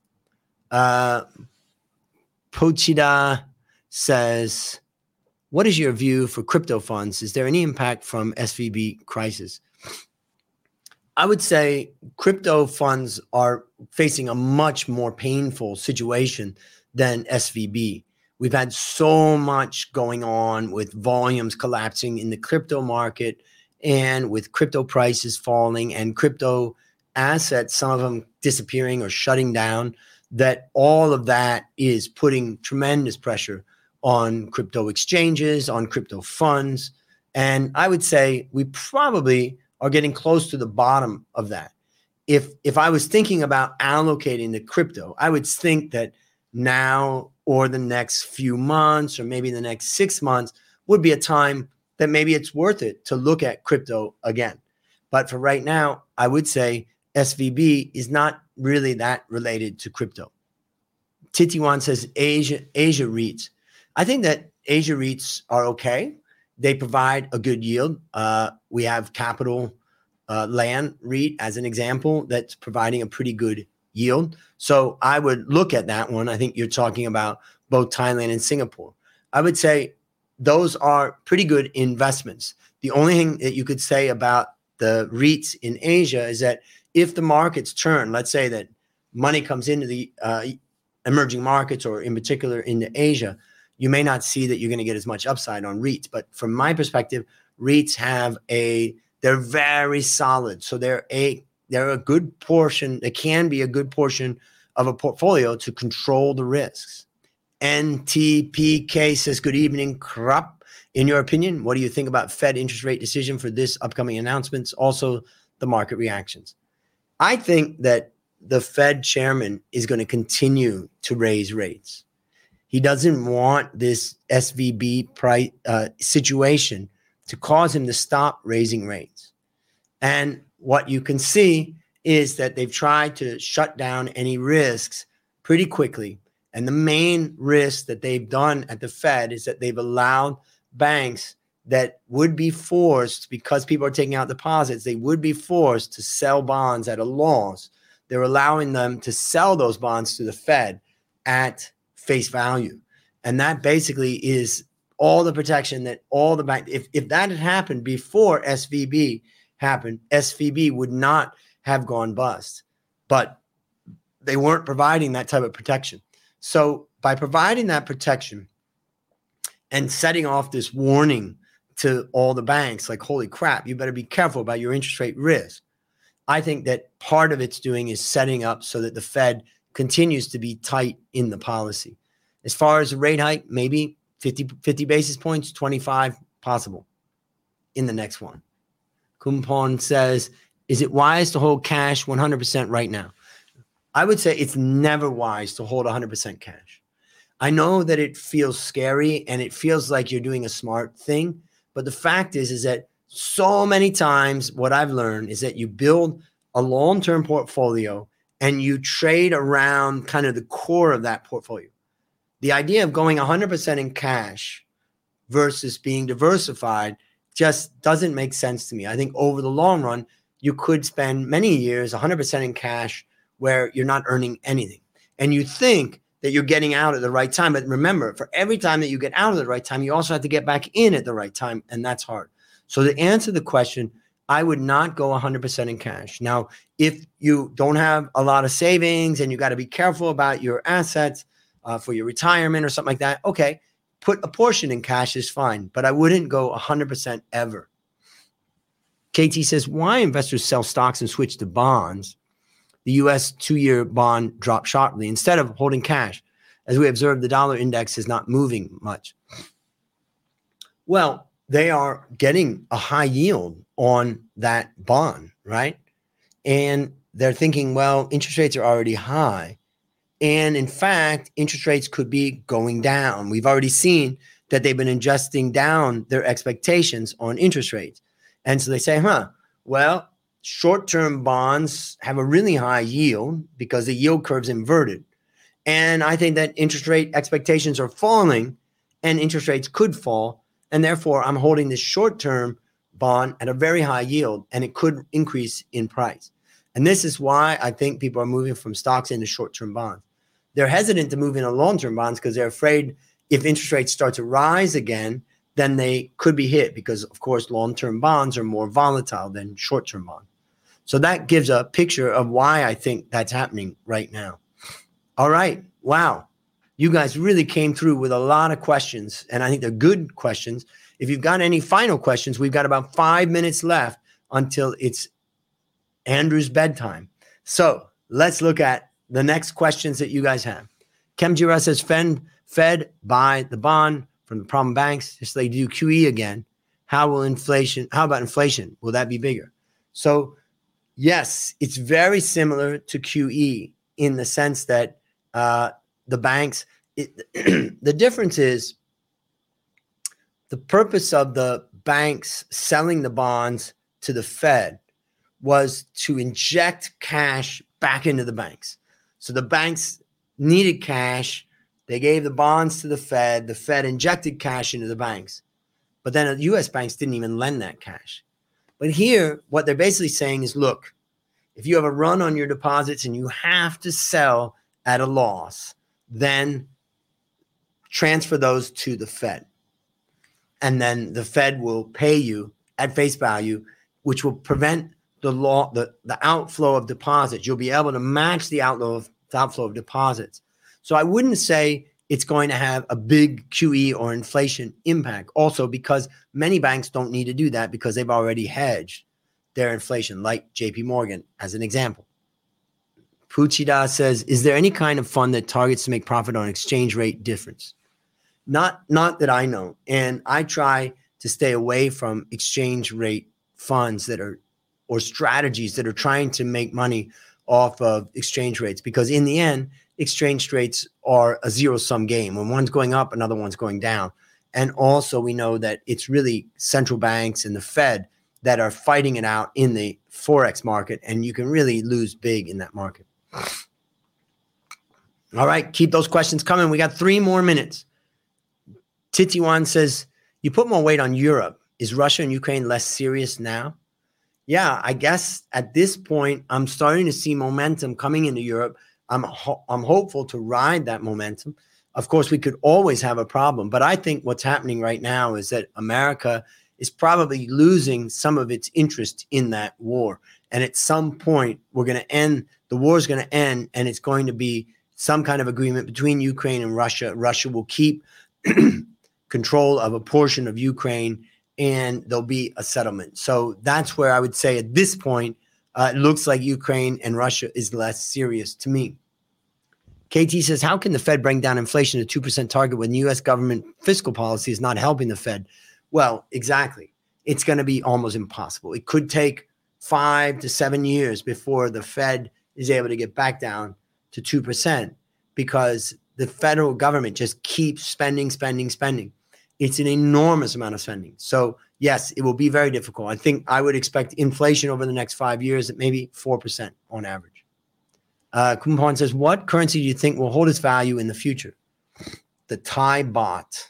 Pochida says, what is your view for crypto funds? Is there any impact from SVB crisis? I would say crypto funds are facing a much more painful situation than SVB. We've had so much going on with volumes collapsing in the crypto market and with crypto prices falling and crypto assets, some of them disappearing or shutting down, that all of that is putting tremendous pressure on crypto exchanges, on crypto funds. And I would say we probably are getting close to the bottom of that. If I was thinking about allocating the crypto, I would think that now or the next few months or maybe the next 6 months would be a time that maybe it's worth it to look at crypto again. But for right now, I would say SVB is not really that related to crypto. Titiwan says Asia REITs. I think that Asia REITs are okay. They provide a good yield. We have Capital Land REIT as an example that's providing a pretty good yield. So I would look at that one. I think you're talking about both Thailand and Singapore. I would say those are pretty good investments. The only thing that you could say about the REITs in Asia is that if the markets turn, let's say that money comes into the emerging markets or in particular into Asia, you may not see that you're going to get as much upside on REITs. But from my perspective, REITs they're very solid. So they're a good portion. They can be a good portion of a portfolio to control the risks. NTPK says, good evening, Krop. In your opinion, what do you think about Fed interest rate decision for this upcoming announcements? Also, the market reactions. I think that the Fed chairman is going to continue to raise rates. He doesn't want this SVB situation to cause him to stop raising rates. And what you can see is that they've tried to shut down any risks pretty quickly. And the main risk that they've done at the Fed is that they've allowed banks that would be forced, because people are taking out deposits, they would be forced to sell bonds at a loss. They're allowing them to sell those bonds to the Fed at face value. And that basically is all the protection that all the banks, if that had happened before SVB happened, SVB would not have gone bust. But they weren't providing that type of protection. So by providing that protection and setting off this warning to all the banks like, holy crap, you better be careful about your interest rate risk. I think that part of it's doing is setting up so that the Fed continues to be tight in the policy. As far as a rate hike, maybe 50 basis points, 25 possible in the next one. Kumpon says, is it wise to hold cash 100% right now? I would say it's never wise to hold 100% cash. I know that it feels scary and it feels like you're doing a smart thing, but the fact is that so many times what I've learned is that you build a long-term portfolio and you trade around kind of the core of that portfolio. The idea of going 100% in cash versus being diversified just doesn't make sense to me. I think over the long run, you could spend many years 100% in cash where you're not earning anything. And you think that you're getting out at the right time. But remember, for every time that you get out at the right time, you also have to get back in at the right time. And that's hard. So to answer the question, I would not go 100% in cash. Now, if you don't have a lot of savings and you got to be careful about your assets for your retirement or something like that, okay, put a portion in cash is fine. But I wouldn't go 100% ever. KT says, why investors sell stocks and switch to bonds? The U.S. 2-year bond dropped sharply instead of holding cash. As we observed, the dollar index is not moving much. Well, they are getting a high yield on that bond, right? And they're thinking, well, interest rates are already high. And in fact, interest rates could be going down. We've already seen that they've been adjusting down their expectations on interest rates. And so they say, well, short-term bonds have a really high yield because the yield curve's inverted. And I think that interest rate expectations are falling and interest rates could fall. And therefore, I'm holding this short-term bond at a very high yield and it could increase in price. And this is why I think people are moving from stocks into short-term bonds. They're hesitant to move into long-term bonds because they're afraid if interest rates start to rise again, then they could be hit because, of course, long-term bonds are more volatile than short-term bonds. So that gives a picture of why I think that's happening right now. All right. Wow. You guys really came through with a lot of questions, and I think they're good questions. If you've got any final questions, we've got about 5 minutes left until it's Andrew's bedtime. So let's look at the next questions that you guys have. Kemjira says, Fed buy the bond from the problem banks. If they do QE again, how about inflation? Will that be bigger? So yes, it's very similar to QE in the sense that the banks, the difference is the purpose of the banks selling the bonds to the Fed was to inject cash back into the banks. So the banks needed cash. They gave the bonds to the Fed. The Fed injected cash into the banks. But then the U.S. banks didn't even lend that cash. But here, what they're basically saying is, look, if you have a run on your deposits and you have to sell at a loss, then transfer those to the Fed. And then the Fed will pay you at face value, which will prevent the outflow of deposits. You'll be able to match the outflow of deposits. So I wouldn't say it's going to have a big QE or inflation impact. Also, because many banks don't need to do that because they've already hedged their inflation, like JP Morgan as an example. Puchida says, is there any kind of fund that targets to make profit on exchange rate difference? Not that I know. And I try to stay away from exchange rate funds or strategies that are trying to make money off of exchange rates, because in the end, exchange rates are a zero-sum game. When one's going up, another one's going down. And also we know that it's really central banks and the Fed that are fighting it out in the Forex market, and you can really lose big in that market. All right, keep those questions coming. We got 3 more minutes. Titiwan says, you put more weight on Europe. Is Russia and Ukraine less serious now? Yeah, I guess at this point, I'm starting to see momentum coming into Europe. I'm hopeful to ride that momentum. Of course, we could always have a problem, but I think what's happening right now is that America is probably losing some of its interest in that war. And at some point, the war is going to end, and it's going to be some kind of agreement between Ukraine and Russia. Russia will keep control of a portion of Ukraine, and there'll be a settlement. So that's where I would say at this point, it looks like Ukraine and Russia is less serious to me. KT says, how can the Fed bring down inflation to 2% target when the U.S. government fiscal policy is not helping the Fed? Well, exactly. It's going to be almost impossible. It could take 5 to 7 years before the Fed is able to get back down to 2% because the federal government just keeps spending. It's an enormous amount of spending. So yes, it will be very difficult. I think I would expect inflation over the next 5 years at maybe 4% on average. Kumpan says, what currency do you think will hold its value in the future? The Thai baht.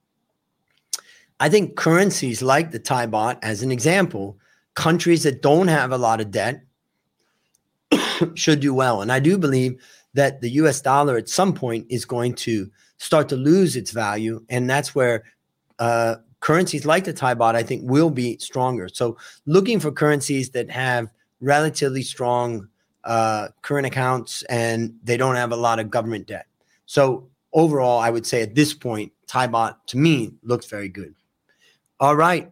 I think currencies like the Thai baht, as an example, countries that don't have a lot of debt should do well. And I do believe that the US dollar at some point is going to start to lose its value. And that's where currencies like the Thai baht, I think, will be stronger. So looking for currencies that have relatively strong current accounts and they don't have a lot of government debt. So overall, I would say at this point, Thai baht to me looks very good. All right.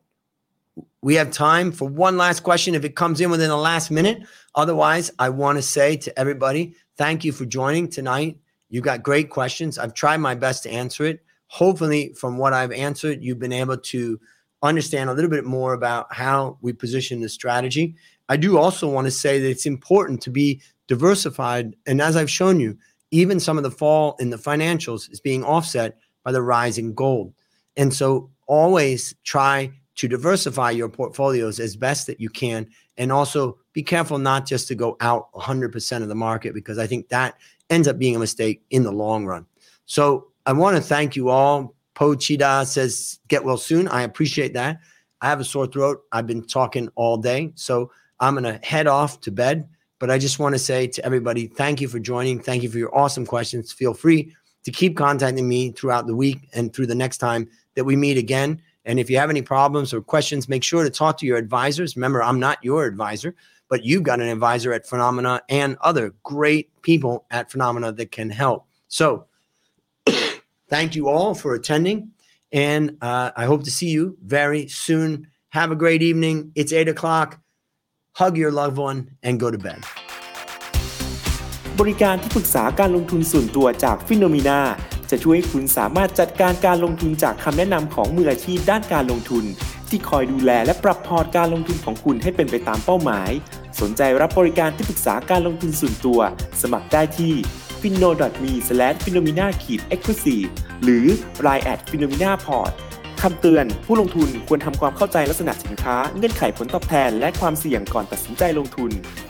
We have time for one last question if it comes in within the last minute. Otherwise, I want to say to everybody, thank you for joining tonight. You got great questions. I've tried my best to answer it. Hopefully, from what I've answered, you've been able to understand a little bit more about how we position the strategy. I do also want to say that it's important to be diversified. And as I've shown you, even some of the fall in the financials is being offset by the rise in gold. And so always try to diversify your portfolios as best that you can. And also be careful not just to go out 100% of the market, because I think that ends up being a mistake in the long run. So I want to thank you all. Po Chida says, get well soon. I appreciate that. I have a sore throat. I've been talking all day. So I'm going to head off to bed. But I just want to say to everybody, thank you for joining. Thank you for your awesome questions. Feel free to keep contacting me throughout the week and through the next time that we meet again. And if you have any problems or questions, make sure to talk to your advisors. Remember, I'm not your advisor, but you've got an advisor at Phenomena and other great people at Phenomena that can help. So thank you all for attending. And I hope to see you very soon. Have a great evening. It's 8 o'clock. Hug your loved one and go to bed. บริการที่ปรึกษาการลงทุนส่วนตัวจาก Phenomena จะช่วยให้คุณสามารถจัดการการลงทุนจากคำแนะนำของมืออาชีพด้านการลงทุนที่คอยดูแลและปรับพอร์ตการลงทุนของคุณให้เป็นไปตามเป้าหมายสนใจรับบริการที่ปรึกษาการลงทุนส่วนตัวสมัครได้ที่ finno.me/phenomena-exclusive หรือ line @phenomena-port คำเตือนผู้ลงทุนควรทำความเข้าใจลักษณะสินค้าเงื่อนไขผลตอบแทนและความเสี่ยงก่อนตัดสินใจลงทุน